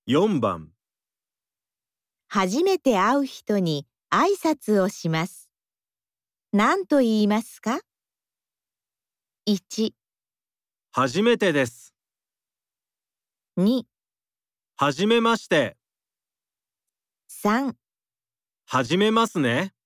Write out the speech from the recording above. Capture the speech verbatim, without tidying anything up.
よんばん。 初めて会う人に挨拶をします。何と言いますか？いち、 はじめてです。 に、 はじめまして。 さん。 はじめますね。